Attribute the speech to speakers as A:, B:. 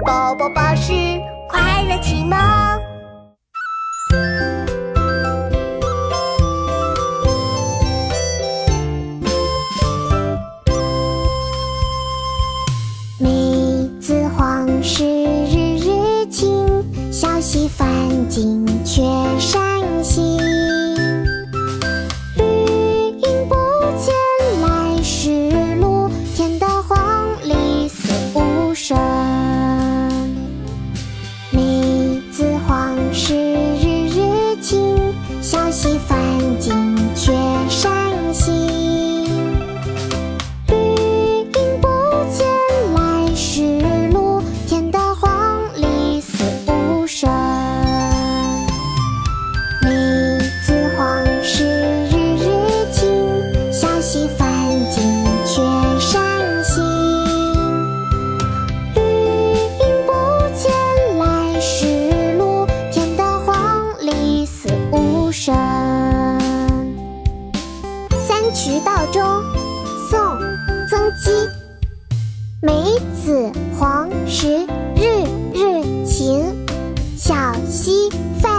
A: 宝宝巴士快乐启蒙。
B: 梅子黄时日日晴，小溪泛尽却山行。绿阴不见来时路，天的黄鹂四无声。梅子黄时日日晴，小溪泛尽却山行。三衢道中，宋·曾几。梅子黄时日日晴，小溪泛